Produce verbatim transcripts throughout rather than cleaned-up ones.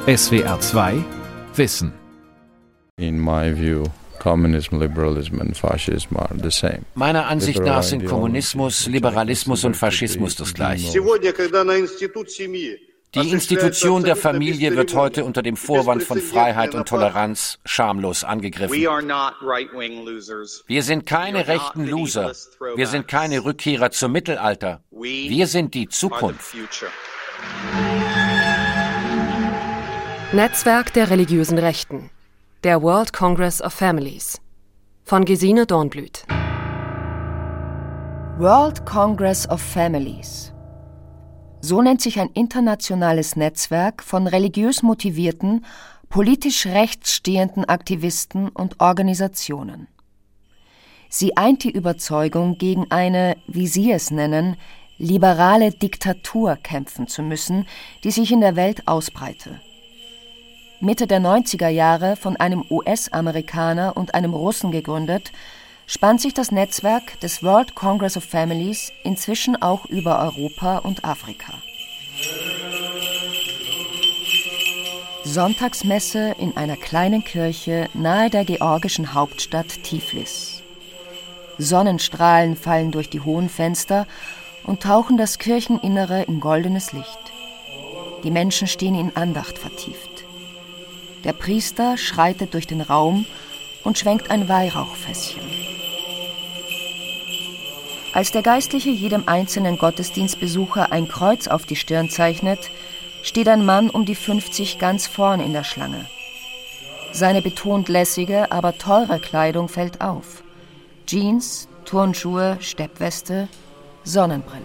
S W R zwei Wissen. In my view, communism, liberalism and fascism are the same. Meiner Ansicht nach sind Kommunismus, Liberalismus und Faschismus das Gleiche. Die Institution der Familie wird heute unter dem Vorwand von Freiheit und Toleranz schamlos angegriffen. Wir sind keine rechten Loser. Wir sind keine Rückkehrer zum Mittelalter. Wir sind die Zukunft. Netzwerk der religiösen Rechten. Der World Congress of Families. Von Gesine Dornblüt. World Congress of Families. So nennt sich ein internationales Netzwerk von religiös motivierten, politisch rechts stehenden Aktivisten und Organisationen. Sie eint die Überzeugung, gegen eine, wie sie es nennen, liberale Diktatur kämpfen zu müssen, die sich in der Welt ausbreite. Mitte der neunziger Jahre von einem U S-Amerikaner und einem Russen gegründet, spannt sich das Netzwerk des World Congress of Families inzwischen auch über Europa und Afrika. Sonntagsmesse in einer kleinen Kirche nahe der georgischen Hauptstadt Tiflis. Sonnenstrahlen fallen durch die hohen Fenster und tauchen das Kircheninnere in goldenes Licht. Die Menschen stehen in Andacht vertieft. Der Priester schreitet durch den Raum und schwenkt ein Weihrauchfässchen. Als der Geistliche jedem einzelnen Gottesdienstbesucher ein Kreuz auf die Stirn zeichnet, steht ein Mann um die fünfzig ganz vorn in der Schlange. Seine betont lässige, aber teure Kleidung fällt auf. Jeans, Turnschuhe, Steppweste, Sonnenbrille.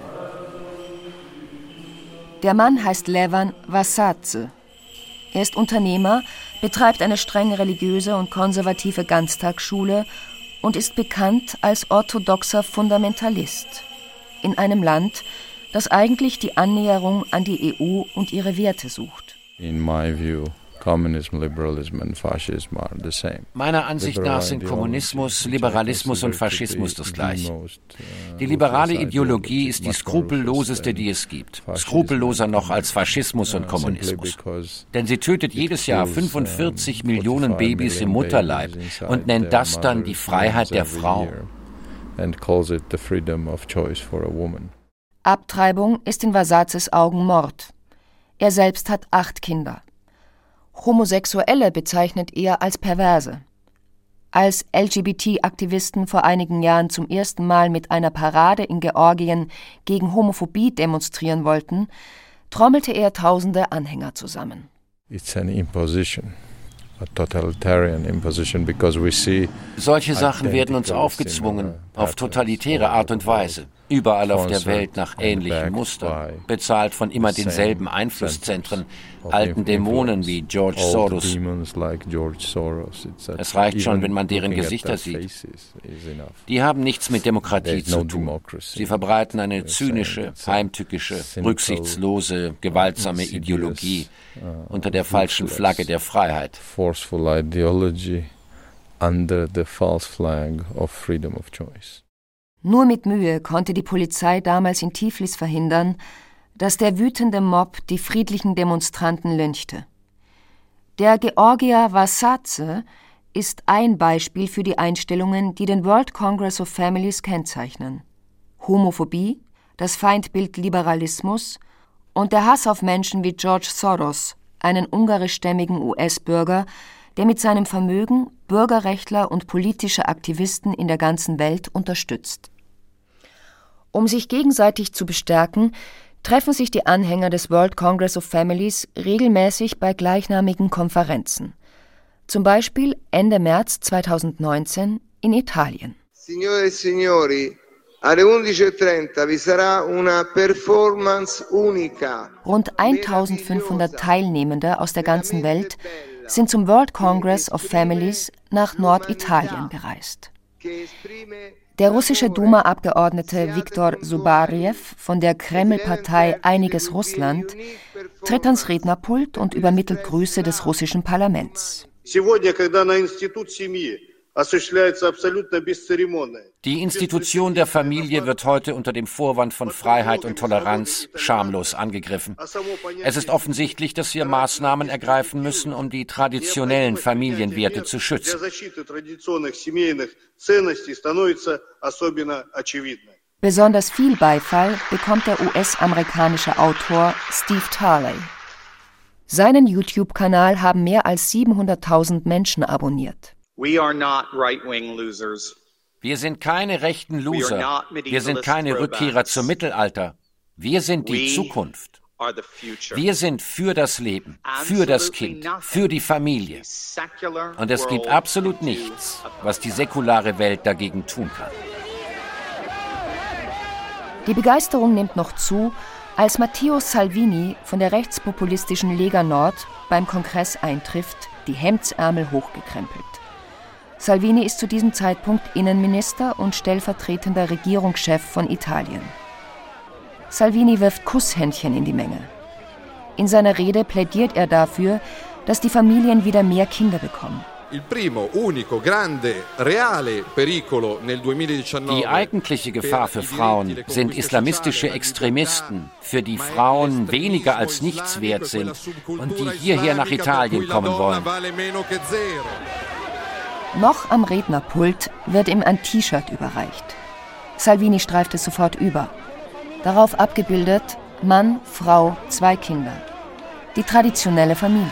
Der Mann heißt Levan Vasadze. Er ist Unternehmer, betreibt eine streng religiöse und konservative Ganztagsschule und ist bekannt als orthodoxer Fundamentalist in einem Land, das eigentlich die Annäherung an die E U und ihre Werte sucht. In my view, communism, liberalism and fascism are the same. Meiner Ansicht nach sind Kommunismus, Liberalismus und Faschismus das Gleiche. Die liberale Ideologie ist die skrupelloseste, die es gibt. Skrupelloser noch als Faschismus und Kommunismus. Denn sie tötet jedes Jahr fünfundvierzig Millionen Babys im Mutterleib und nennt das dann die Freiheit der Frau. Abtreibung ist in Vasadzes Augen Mord. Er selbst hat acht Kinder. Homosexuelle bezeichnet er als Perverse. Als L G B T-Aktivisten vor einigen Jahren zum ersten Mal mit einer Parade in Georgien gegen Homophobie demonstrieren wollten, trommelte er tausende Anhänger zusammen. It's an imposition. A totalitarian imposition because we see Solche Sachen werden uns aufgezwungen, auf totalitäre Art und Weise, überall auf der Welt nach ähnlichen Mustern, bezahlt von immer denselben Einflusszentren, alten Dämonen wie George Soros. Es reicht schon, wenn man deren Gesichter sieht. Die haben nichts mit Demokratie zu tun. Sie verbreiten eine zynische, heimtückische, rücksichtslose, gewaltsame Ideologie unter der falschen Flagge der Freiheit. Forceful ideology under the false flag of freedom of choice. Nur mit Mühe konnte die Polizei damals in Tiflis verhindern, dass der wütende Mob die friedlichen Demonstranten lynchte. Der Georgier Vasadze ist ein Beispiel für die Einstellungen, die den World Congress of Families kennzeichnen. Homophobie, das Feindbild Liberalismus und der Hass auf Menschen wie George Soros, einen ungarischstämmigen U S-Bürger, der mit seinem Vermögen Bürgerrechtler und politische Aktivisten in der ganzen Welt unterstützt. Um sich gegenseitig zu bestärken, treffen sich die Anhänger des World Congress of Families regelmäßig bei gleichnamigen Konferenzen. Zum Beispiel Ende März zweitausendneunzehn in Italien. Signore e signori, alle undici e trenta vi sarà una performance unica. Rund eintausendfünfhundert Teilnehmende aus der ganzen Welt sind zum World Congress of Families nach Norditalien gereist. Der russische Duma-Abgeordnete Viktor Zubarjew von der Kreml-Partei Einiges Russland tritt ans Rednerpult und übermittelt Grüße des russischen Parlaments. Die Institution der Familie wird heute unter dem Vorwand von Freiheit und Toleranz schamlos angegriffen. Es ist offensichtlich, dass wir Maßnahmen ergreifen müssen, um die traditionellen Familienwerte zu schützen. Besonders viel Beifall bekommt der U S-amerikanische Autor Steve Tarley. Seinen YouTube-Kanal haben mehr als siebenhunderttausend Menschen abonniert. Wir sind keine rechten Loser. Wir sind keine Rückkehrer zum Mittelalter. Wir sind die Zukunft. Wir sind für das Leben, für das Kind, für die Familie. Und es gibt absolut nichts, was die säkulare Welt dagegen tun kann. Die Begeisterung nimmt noch zu, als Matteo Salvini von der rechtspopulistischen Lega Nord beim Kongress eintrifft, die Hemdsärmel hochgekrempelt. Salvini ist zu diesem Zeitpunkt Innenminister und stellvertretender Regierungschef von Italien. Salvini wirft Kusshändchen in die Menge. In seiner Rede plädiert er dafür, dass die Familien wieder mehr Kinder bekommen. Die eigentliche Gefahr für Frauen sind islamistische Extremisten, für die Frauen weniger als nichts wert sind und die hierher nach Italien kommen wollen. Noch am Rednerpult wird ihm ein T-Shirt überreicht. Salvini streift es sofort über. Darauf abgebildet Mann, Frau, zwei Kinder. Die traditionelle Familie.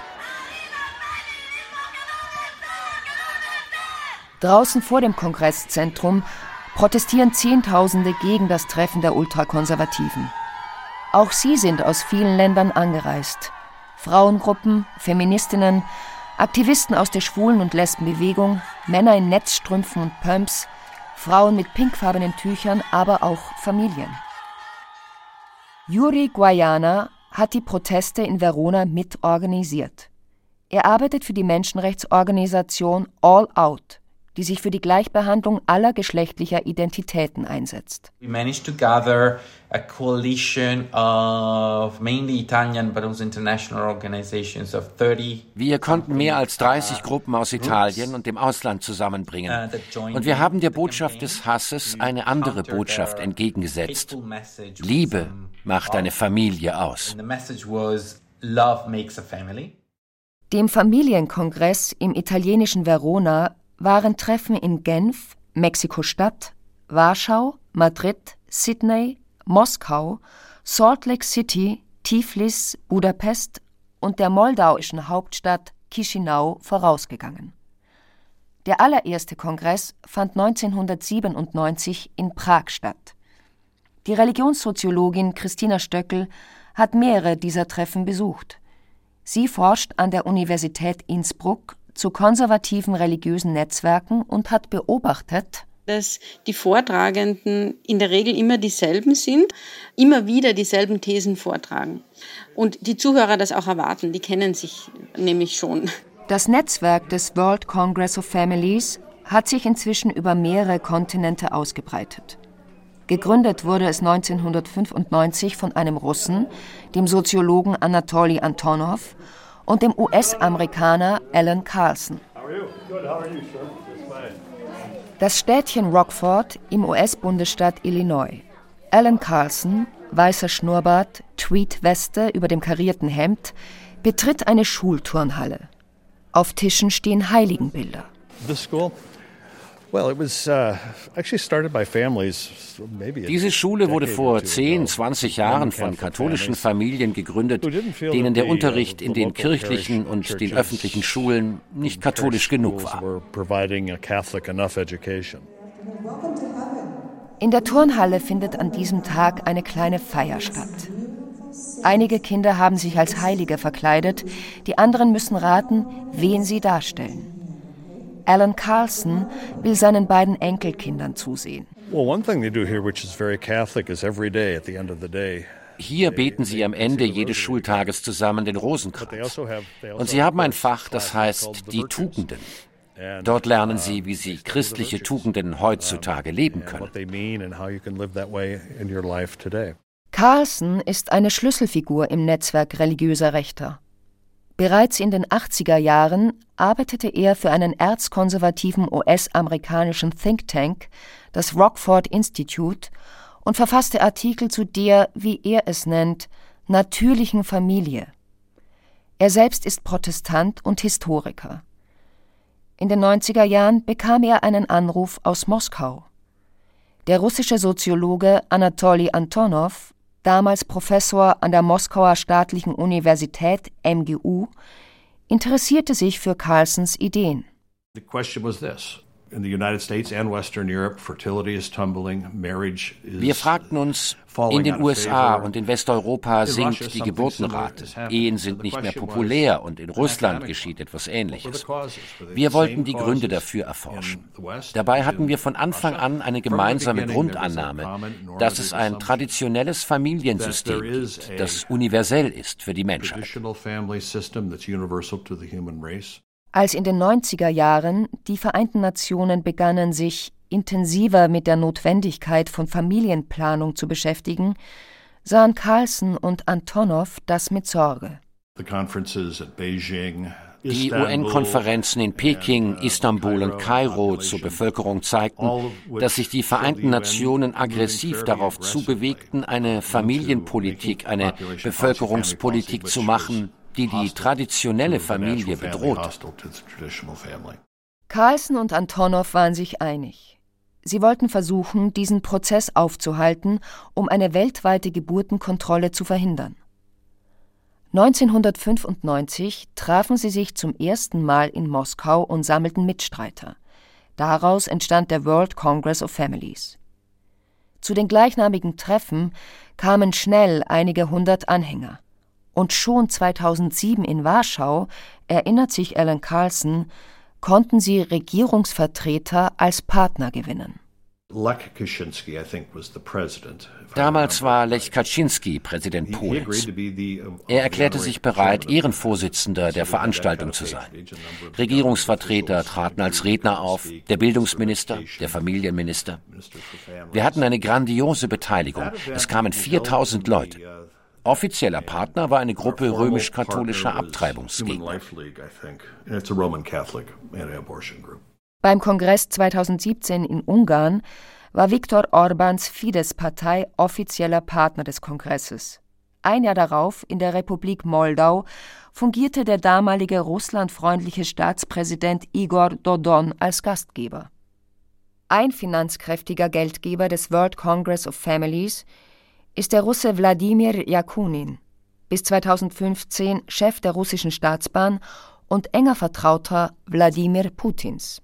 Draußen vor dem Kongresszentrum protestieren Zehntausende gegen das Treffen der Ultrakonservativen. Auch sie sind aus vielen Ländern angereist. Frauengruppen, Feministinnen, Aktivisten aus der Schwulen- und Lesbenbewegung, Männer in Netzstrümpfen und Pumps, Frauen mit pinkfarbenen Tüchern, aber auch Familien. Yuri Guayana hat die Proteste in Verona mitorganisiert. Er arbeitet für die Menschenrechtsorganisation All Out, die sich für die Gleichbehandlung aller geschlechtlicher Identitäten einsetzt. We managed to gather a coalition of mainly Italian but also international organizations of thirty. Wir konnten mehr als dreißig Gruppen aus Italien und dem Ausland zusammenbringen. Und wir haben der Botschaft des Hasses eine andere Botschaft entgegengesetzt. Liebe macht eine Familie aus. Dem Familienkongress im italienischen Verona waren Treffen in Genf, Mexiko-Stadt, Warschau, Madrid, Sydney, Moskau, Salt Lake City, Tiflis, Budapest und der moldauischen Hauptstadt Chișinău vorausgegangen. Der allererste Kongress fand neunzehnhundertsiebenundneunzig in Prag statt. Die Religionssoziologin Christina Stöckel hat mehrere dieser Treffen besucht. Sie forscht an der Universität Innsbruck zu konservativen religiösen Netzwerken und hat beobachtet, dass die Vortragenden in der Regel immer dieselben sind, immer wieder dieselben Thesen vortragen. Und die Zuhörer das auch erwarten, die kennen sich nämlich schon. Das Netzwerk des World Congress of Families hat sich inzwischen über mehrere Kontinente ausgebreitet. Gegründet wurde es neunzehnhundertfünfundneunzig von einem Russen, dem Soziologen Anatoly Antonov, und dem U S-Amerikaner Alan Carlson. Das Städtchen Rockford im U S-Bundesstaat Illinois. Alan Carlson, weißer Schnurrbart, Tweedweste über dem karierten Hemd, betritt eine Schulturnhalle. Auf Tischen stehen Heiligenbilder. Diese Schule wurde vor zehn, zwanzig Jahren von katholischen Familien gegründet, denen der Unterricht in den kirchlichen und den öffentlichen Schulen nicht katholisch genug war. In der Turnhalle findet an diesem Tag eine kleine Feier statt. Einige Kinder haben sich als Heilige verkleidet, die anderen müssen raten, wen sie darstellen. Alan Carlson will seinen beiden Enkelkindern zusehen. Hier beten sie am Ende jedes Schultages zusammen den Rosenkranz. Und sie haben ein Fach, das heißt die Tugenden. Dort lernen sie, wie sie christliche Tugenden heutzutage leben können. Carlson ist eine Schlüsselfigur im Netzwerk religiöser Rechter. Bereits in den achtziger Jahren arbeitete er für einen erzkonservativen U S-amerikanischen Think Tank, das Rockford Institute, und verfasste Artikel zu der, wie er es nennt, natürlichen Familie. Er selbst ist Protestant und Historiker. In den neunziger Jahren bekam er einen Anruf aus Moskau. Der russische Soziologe Anatoli Antonov, damals Professor an der Moskauer Staatlichen Universität M G U, interessierte sich für Carlsons Ideen. The question was this. In the United States and Western Europe, fertility is tumbling, marriage is Wir fragten uns, in den U S A und in Westeuropa sinkt die Geburtenrate, Ehen sind nicht mehr populär und in Russland geschieht etwas Ähnliches. Wir wollten die Gründe dafür erforschen. Dabei hatten wir von Anfang an eine gemeinsame Grundannahme, dass es ein traditionelles Familiensystem gibt, das universell ist für die Menschheit. Als in den neunziger Jahren die Vereinten Nationen begannen, sich intensiver mit der Notwendigkeit von Familienplanung zu beschäftigen, sahen Carlson und Antonov das mit Sorge. Die U N-Konferenzen in Peking, Istanbul und Kairo zur Bevölkerung zeigten, dass sich die Vereinten Nationen aggressiv darauf zubewegten, eine Familienpolitik, eine Bevölkerungspolitik zu machen, die die traditionelle Familie bedroht. Carlson und Antonov waren sich einig. Sie wollten versuchen, diesen Prozess aufzuhalten, um eine weltweite Geburtenkontrolle zu verhindern. neunzehnhundertfünfundneunzig trafen sie sich zum ersten Mal in Moskau und sammelten Mitstreiter. Daraus entstand der World Congress of Families. Zu den gleichnamigen Treffen kamen schnell einige hundert Anhänger. Und schon zweitausendsieben in Warschau, erinnert sich Alan Carlson, konnten sie Regierungsvertreter als Partner gewinnen. Damals war Lech Kaczynski Präsident Polens. Er erklärte sich bereit, Ehrenvorsitzender der Veranstaltung zu sein. Regierungsvertreter traten als Redner auf, der Bildungsminister, der Familienminister. Wir hatten eine grandiose Beteiligung. Es kamen viertausend Leute. Offizieller Partner war eine Gruppe römisch-katholischer Abtreibungsgegner. Beim Kongress zweitausendsiebzehn in Ungarn war Viktor Orbáns Fidesz-Partei offizieller Partner des Kongresses. Ein Jahr darauf, in der Republik Moldau, fungierte der damalige russlandfreundliche Staatspräsident Igor Dodon als Gastgeber. Ein finanzkräftiger Geldgeber des World Congress of Families ist der Russe Wladimir Jakunin, bis zweitausendfünfzehn Chef der russischen Staatsbahn und enger Vertrauter Wladimir Putins.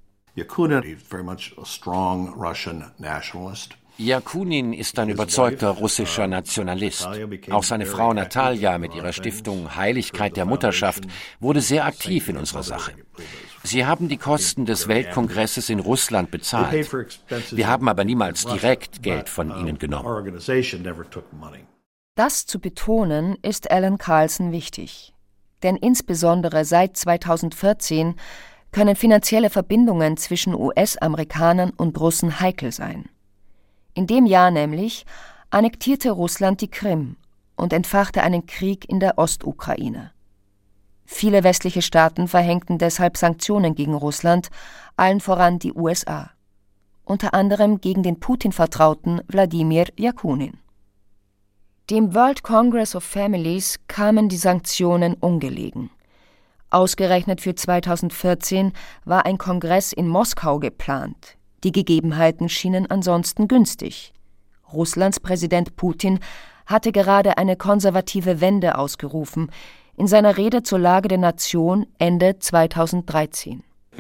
Jakunin ist ein überzeugter russischer Nationalist. Auch seine Frau Natalja mit ihrer Stiftung Heiligkeit der Mutterschaft wurde sehr aktiv in unserer Sache. Sie haben die Kosten des Weltkongresses in Russland bezahlt. Wir haben aber niemals direkt Geld von ihnen genommen. Das zu betonen, ist Alan Carlson wichtig. Denn insbesondere seit zweitausendvierzehn können finanzielle Verbindungen zwischen U S-Amerikanern und Russen heikel sein. In dem Jahr nämlich annektierte Russland die Krim und entfachte einen Krieg in der Ostukraine. Viele westliche Staaten verhängten deshalb Sanktionen gegen Russland, allen voran die U S A. Unter anderem gegen den Putin-Vertrauten Wladimir Jakunin. Dem World Congress of Families kamen die Sanktionen ungelegen. Ausgerechnet für zweitausendvierzehn war ein Kongress in Moskau geplant. Die Gegebenheiten schienen ansonsten günstig. Russlands Präsident Putin hatte gerade eine konservative Wende ausgerufen, in seiner Rede zur Lage der Nation Ende zweitausenddreizehn. Die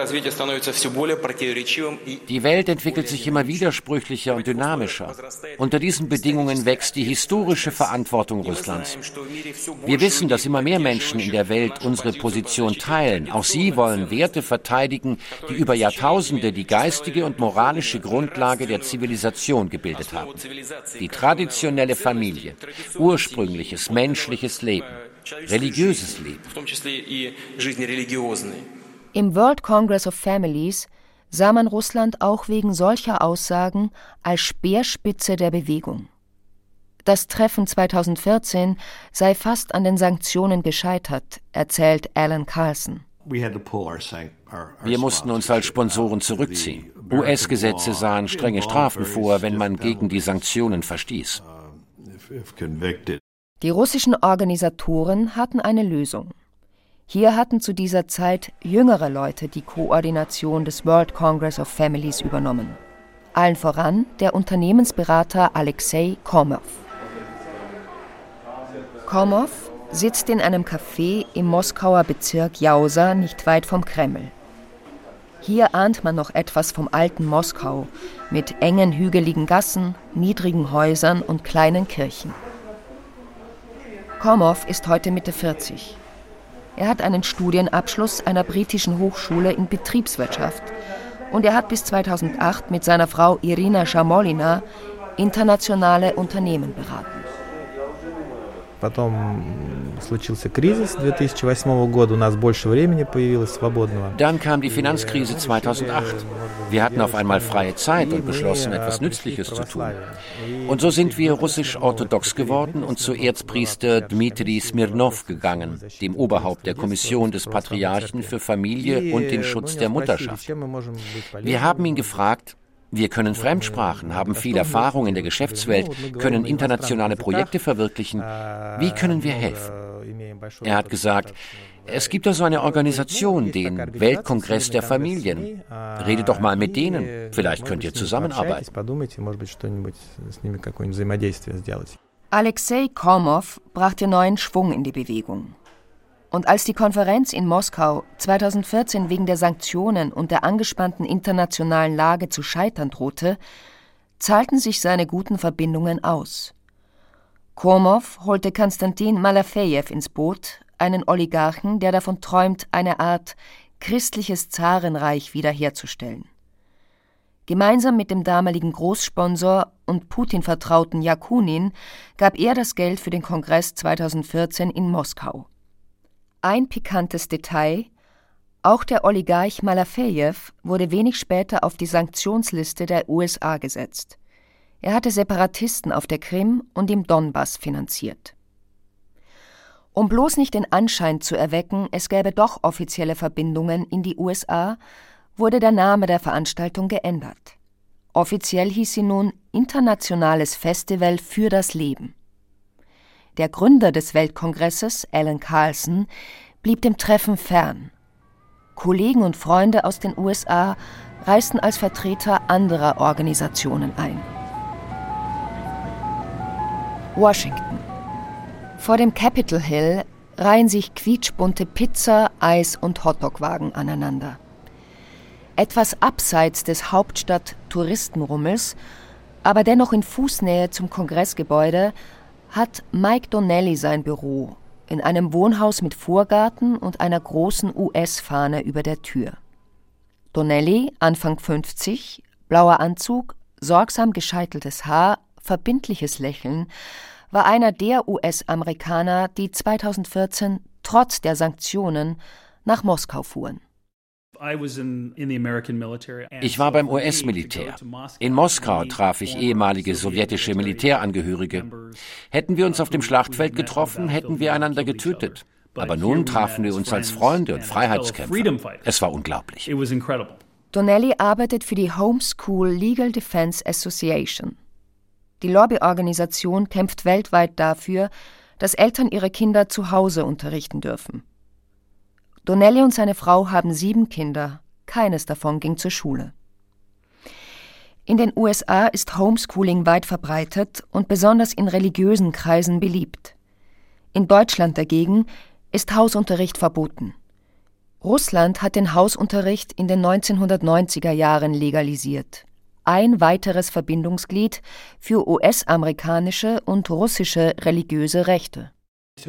Welt entwickelt sich immer widersprüchlicher und dynamischer. Unter diesen Bedingungen wächst die historische Verantwortung Russlands. Wir wissen, dass immer mehr Menschen in der Welt unsere Position teilen. Auch sie wollen Werte verteidigen, die über Jahrtausende die geistige und moralische Grundlage der Zivilisation gebildet haben. Die traditionelle Familie, ursprüngliches menschliches Leben, religiöses Leben. Im World Congress of Families sah man Russland auch wegen solcher Aussagen als Speerspitze der Bewegung. Das Treffen zweitausendvierzehn sei fast an den Sanktionen gescheitert, erzählt Alan Carlson. Wir mussten uns als Sponsoren zurückziehen. U S-Gesetze sahen strenge Strafen vor, wenn man gegen die Sanktionen verstieß. Die russischen Organisatoren hatten eine Lösung. Hier hatten zu dieser Zeit jüngere Leute die Koordination des World Congress of Families übernommen. Allen voran der Unternehmensberater Alexei Komov. Komov sitzt in einem Café im Moskauer Bezirk Jausa, nicht weit vom Kreml. Hier ahnt man noch etwas vom alten Moskau mit engen, hügeligen Gassen, niedrigen Häusern und kleinen Kirchen. Komov ist heute Mitte vierzig. Er hat einen Studienabschluss einer britischen Hochschule in Betriebswirtschaft und er hat bis zweitausendacht mit seiner Frau Irina Schamolina internationale Unternehmen beraten. Dann kam die Finanzkrise zweitausendacht. Wir hatten auf einmal freie Zeit und beschlossen, etwas Nützliches zu tun. Und so sind wir russisch-orthodox geworden und zu Erzpriester Dmitri Smirnov gegangen, dem Oberhaupt der Kommission des Patriarchen für Familie und den Schutz der Mutterschaft. Wir haben ihn gefragt: Wir können Fremdsprachen, haben viel Erfahrung in der Geschäftswelt, können internationale Projekte verwirklichen. Wie können wir helfen? Er hat gesagt, es gibt da so eine Organisation, den Weltkongress der Familien. Redet doch mal mit denen, vielleicht könnt ihr zusammenarbeiten. Alexei Komov brachte neuen Schwung in die Bewegung. Und als die Konferenz in Moskau zweitausendvierzehn wegen der Sanktionen und der angespannten internationalen Lage zu scheitern drohte, zahlten sich seine guten Verbindungen aus. Komov holte Konstantin Malafejew ins Boot, einen Oligarchen, der davon träumt, eine Art christliches Zarenreich wiederherzustellen. Gemeinsam mit dem damaligen Großsponsor und Putin-Vertrauten Jakunin gab er das Geld für den Kongress zweitausendvierzehn in Moskau. Ein pikantes Detail: Auch der Oligarch Malafejew wurde wenig später auf die Sanktionsliste der U S A gesetzt. Er hatte Separatisten auf der Krim und im Donbass finanziert. Um bloß nicht den Anschein zu erwecken, es gäbe doch offizielle Verbindungen in die U S A, wurde der Name der Veranstaltung geändert. Offiziell hieß sie nun Internationales Festival für das Leben. Der Gründer des Weltkongresses, Alan Carlson, blieb dem Treffen fern. Kollegen und Freunde aus den U S A reisten als Vertreter anderer Organisationen ein. Washington. Vor dem Capitol Hill reihen sich quietschbunte Pizza-, Eis- und Hotdog-Wagen aneinander. Etwas abseits des Hauptstadt-Touristenrummels, aber dennoch in Fußnähe zum Kongressgebäude, hat Mike Donnelly sein Büro in einem Wohnhaus mit Vorgarten und einer großen U S-Fahne über der Tür. Donnelly, Anfang fünfzig, blauer Anzug, sorgsam gescheiteltes Haar, verbindliches Lächeln, war einer der U S-Amerikaner, die zweitausendvierzehn trotz der Sanktionen nach Moskau fuhren. Ich war beim U S-Militär. In Moskau traf ich ehemalige sowjetische Militärangehörige. Hätten wir uns auf dem Schlachtfeld getroffen, hätten wir einander getötet. Aber nun trafen wir uns als Freunde und Freiheitskämpfer. Es war unglaublich. Donnelly arbeitet für die Homeschool Legal Defense Association. Die Lobbyorganisation kämpft weltweit dafür, dass Eltern ihre Kinder zu Hause unterrichten dürfen. Donnelly und seine Frau haben sieben Kinder, keines davon ging zur Schule. In den U S A ist Homeschooling weit verbreitet und besonders in religiösen Kreisen beliebt. In Deutschland dagegen ist Hausunterricht verboten. Russland hat den Hausunterricht in den neunzehnhundertneunziger Jahren legalisiert. Ein weiteres Verbindungsglied für U S-amerikanische und russische religiöse Rechte. Für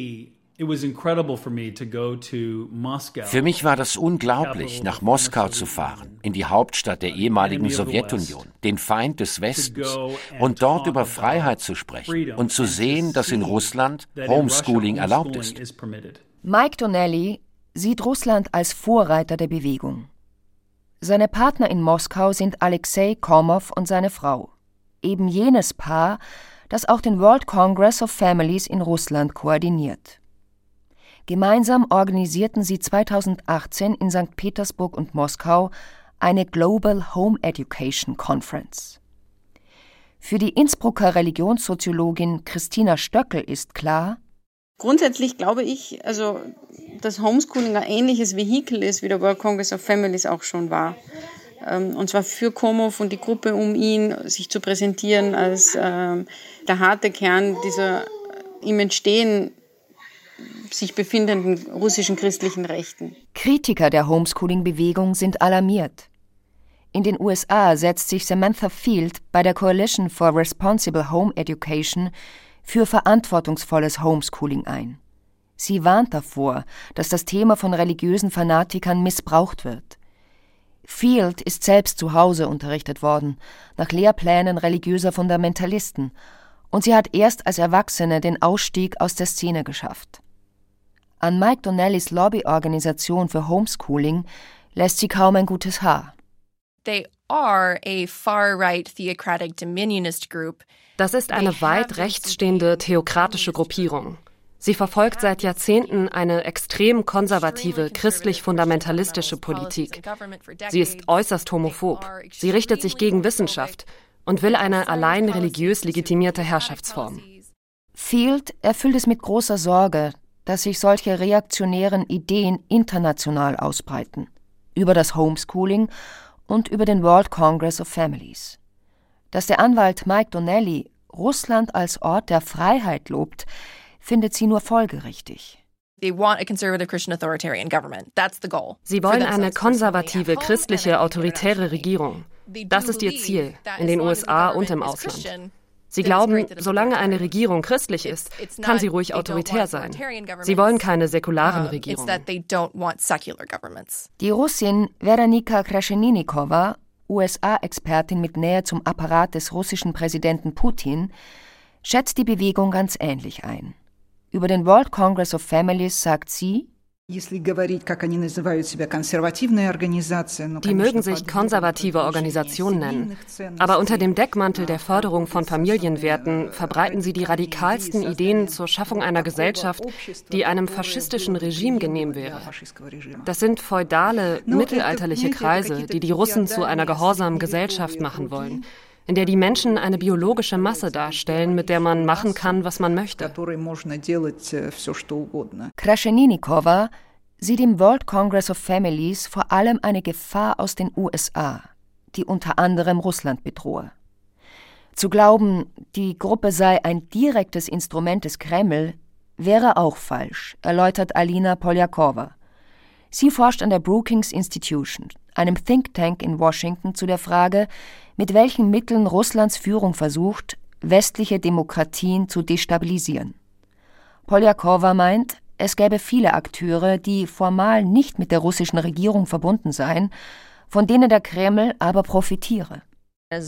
mich war das unglaublich, nach Moskau zu fahren, in die Hauptstadt der ehemaligen Sowjetunion, den Feind des Westens, und dort über Freiheit zu sprechen und zu sehen, dass in Russland Homeschooling erlaubt ist. Mike Donnelly sieht Russland als Vorreiter der Bewegung. Seine Partner in Moskau sind Alexei Komov und seine Frau, eben jenes Paar, das auch den World Congress of Families in Russland koordiniert. Gemeinsam organisierten sie zweitausendachtzehn in Sankt Petersburg und Moskau eine Global Home Education Conference. Für die Innsbrucker Religionssoziologin Christina Stöckel ist klar: Grundsätzlich glaube ich, also, dass Homeschooling ein ähnliches Vehikel ist, wie der World Congress of Families auch schon war. Und zwar für Komov und die Gruppe um ihn, sich zu präsentieren als ähm, der harte Kern dieser im Entstehen sich befindenden russischen christlichen Rechten. Kritiker der Homeschooling-Bewegung sind alarmiert. In den U S A setzt sich Samantha Field bei der Coalition for Responsible Home Education für verantwortungsvolles Homeschooling ein. Sie warnt davor, dass das Thema von religiösen Fanatikern missbraucht wird. Field ist selbst zu Hause unterrichtet worden, nach Lehrplänen religiöser Fundamentalisten, und sie hat erst als Erwachsene den Ausstieg aus der Szene geschafft. An Mike Donnellys Lobbyorganisation für Homeschooling lässt sie kaum ein gutes Haar. They are a far-right theocratic dominionist group. Das ist eine weit rechts stehende theokratische Gruppierung. Sie verfolgt seit Jahrzehnten eine extrem konservative, christlich-fundamentalistische Politik. Sie ist äußerst homophob. Sie richtet sich gegen Wissenschaft und will eine allein religiös legitimierte Herrschaftsform. Field erfüllt es mit großer Sorge, dass sich solche reaktionären Ideen international ausbreiten, über das Homeschooling und über den World Congress of Families. Dass der Anwalt Mike Donnelly Russland als Ort der Freiheit lobt, findet sie nur folgerichtig. Sie wollen eine konservative, christliche, autoritäre Regierung. Das ist ihr Ziel, in den U S A und im Ausland. Sie glauben, solange eine Regierung christlich ist, kann sie ruhig autoritär sein. Sie wollen keine säkularen Regierungen. Die Russin Veronika Krascheninnikova, U S A-Expertin mit Nähe zum Apparat des russischen Präsidenten Putin, schätzt die Bewegung ganz ähnlich ein. Über den World Congress of Families sagt sie: Die mögen sich konservative Organisationen nennen, aber unter dem Deckmantel der Förderung von Familienwerten verbreiten sie die radikalsten Ideen zur Schaffung einer Gesellschaft, die einem faschistischen Regime genehm wäre. Das sind feudale, mittelalterliche Kreise, die die Russen zu einer gehorsamen Gesellschaft machen wollen, in der die Menschen eine biologische Masse darstellen, mit der man machen kann, was man möchte. Krascheninnikova sieht im World Congress of Families vor allem eine Gefahr aus den U S A, die unter anderem Russland bedrohe. Zu glauben, die Gruppe sei ein direktes Instrument des Kreml, wäre auch falsch, erläutert Alina Poljakova. Sie forscht an der Brookings Institution, einem Think Tank in Washington, zu der Frage, mit welchen Mitteln Russlands Führung versucht, westliche Demokratien zu destabilisieren. Poljakova meint, es gäbe viele Akteure, die formal nicht mit der russischen Regierung verbunden seien, von denen der Kreml aber profitiere. Das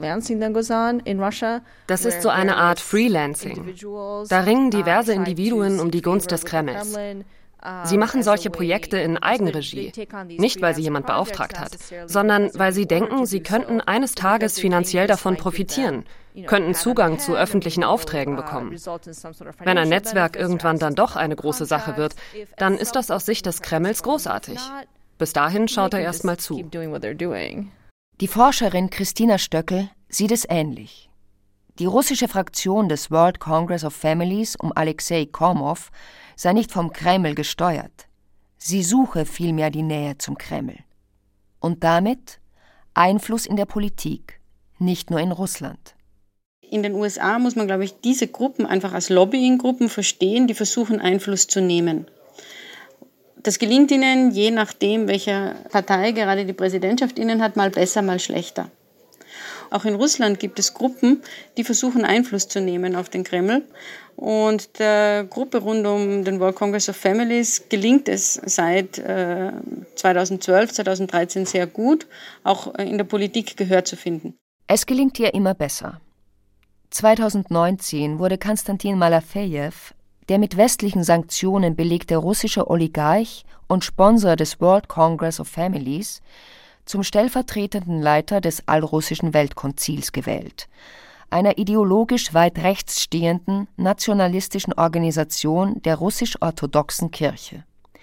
ist so eine Art Freelancing. Da ringen diverse Individuen um die Gunst des Kremls. Sie machen solche Projekte in Eigenregie, nicht weil sie jemand beauftragt hat, sondern weil sie denken, sie könnten eines Tages finanziell davon profitieren, könnten Zugang zu öffentlichen Aufträgen bekommen. Wenn ein Netzwerk irgendwann dann doch eine große Sache wird, dann ist das aus Sicht des Kremls großartig. Bis dahin schaut er erst mal zu. Die Forscherin Christina Stöckel sieht es ähnlich. Die russische Fraktion des World Congress of Families um Alexei Komov sei nicht vom Kreml gesteuert. Sie suche vielmehr die Nähe zum Kreml. Und damit Einfluss in der Politik, nicht nur in Russland. In den U S A muss man, glaube ich, diese Gruppen einfach als Lobbying-Gruppen verstehen, die versuchen, Einfluss zu nehmen. Das gelingt ihnen, je nachdem, welche Partei gerade die Präsidentschaft inne hat, mal besser, mal schlechter. Auch in Russland gibt es Gruppen, die versuchen, Einfluss zu nehmen auf den Kreml. Und der Gruppe rund um den World Congress of Families gelingt es seit äh, zweitausendzwölf, zweitausenddreizehn sehr gut, auch in der Politik Gehör zu finden. Es gelingt ihr immer besser. zweitausendneunzehn wurde Konstantin Malafejew, der mit westlichen Sanktionen belegte russische Oligarch und Sponsor des World Congress of Families, zum stellvertretenden Leiter des allrussischen Weltkonzils gewählt. einer ideologisch weit rechts stehenden nationalistischen Organisation der russisch-orthodoxen Kirche.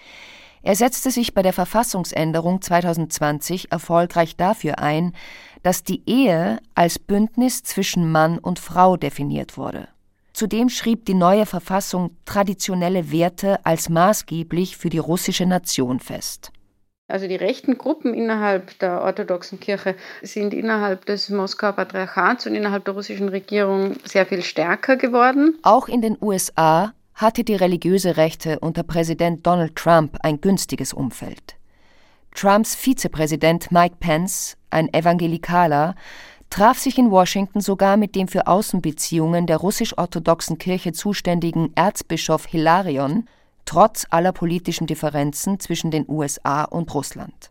Er setzte sich bei der Verfassungsänderung zweitausendzwanzig erfolgreich dafür ein, dass die Ehe als Bündnis zwischen Mann und Frau definiert wurde. Zudem schrieb die neue Verfassung traditionelle Werte als maßgeblich für die russische Nation fest. Also die rechten Gruppen innerhalb der orthodoxen Kirche sind innerhalb des Moskauer Patriarchats und innerhalb der russischen Regierung sehr viel stärker geworden. Auch in den U S A hatte die religiöse Rechte unter Präsident Donald Trump ein günstiges Umfeld. Trumps Vizepräsident Mike Pence, ein Evangelikaler, traf sich in Washington sogar mit dem für Außenbeziehungen der russisch-orthodoxen Kirche zuständigen Erzbischof Hilarion, trotz aller politischen Differenzen zwischen den U S A und Russland.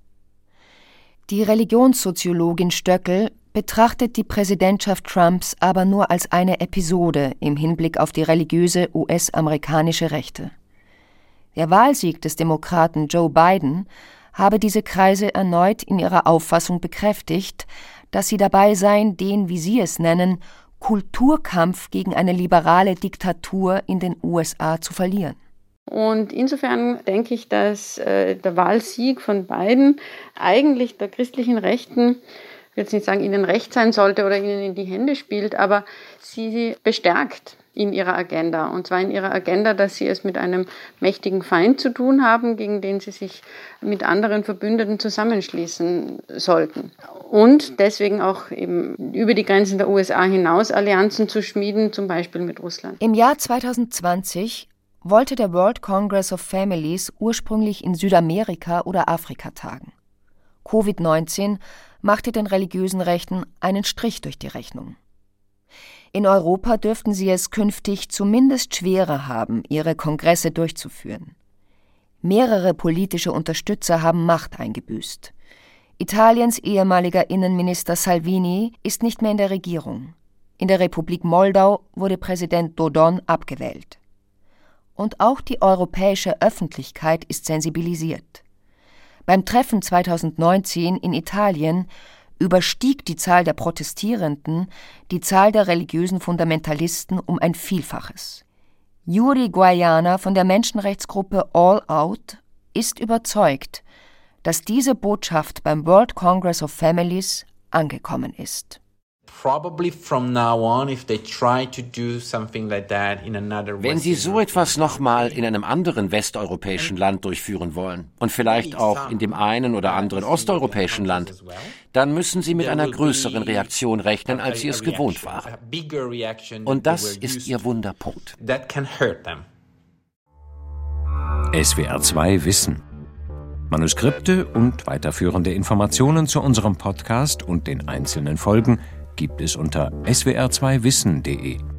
Die Religionssoziologin Stöckel betrachtet die Präsidentschaft Trumps aber nur als eine Episode im Hinblick auf die religiöse U S-amerikanische Rechte. Der Wahlsieg des Demokraten Joe Biden habe diese Kreise erneut in ihrer Auffassung bekräftigt, dass sie dabei seien, den, wie sie es nennen, Kulturkampf gegen eine liberale Diktatur in den U S A zu verlieren. Und insofern denke ich, dass äh, der Wahlsieg von Biden eigentlich der christlichen Rechten, ich will jetzt nicht sagen, ihnen recht sein sollte oder ihnen in die Hände spielt, aber sie bestärkt in ihrer Agenda. Und zwar in ihrer Agenda, dass sie es mit einem mächtigen Feind zu tun haben, gegen den sie sich mit anderen Verbündeten zusammenschließen sollten. Und deswegen auch eben über die Grenzen der U S A hinaus Allianzen zu schmieden, zum Beispiel mit Russland. Im Jahr zweitausendzwanzig wollte der World Congress of Families ursprünglich in Südamerika oder Afrika tagen. Covid neunzehn machte den religiösen Rechten einen Strich durch die Rechnung. In Europa dürften sie es künftig zumindest schwerer haben, ihre Kongresse durchzuführen. Mehrere politische Unterstützer haben Macht eingebüßt. Italiens ehemaliger Innenminister Salvini ist nicht mehr in der Regierung. In der Republik Moldau wurde Präsident Dodon abgewählt. Und auch die europäische Öffentlichkeit ist sensibilisiert. Beim Treffen zweitausendneunzehn in Italien überstieg die Zahl der Protestierenden die Zahl der religiösen Fundamentalisten um ein Vielfaches. Yuri Guaiana von der Menschenrechtsgruppe All Out ist überzeugt, dass diese Botschaft beim World Congress of Families angekommen ist. Wenn Sie so etwas nochmal in einem anderen westeuropäischen Land durchführen wollen und vielleicht auch in dem einen oder anderen osteuropäischen Land, dann müssen Sie mit einer größeren Reaktion rechnen, als Sie es gewohnt waren. Und das ist Ihr Wunderpunkt. S W R zwei Wissen. Manuskripte und weiterführende Informationen zu unserem Podcast und den einzelnen Folgen gibt es unter s w r zwei wissen punkt de.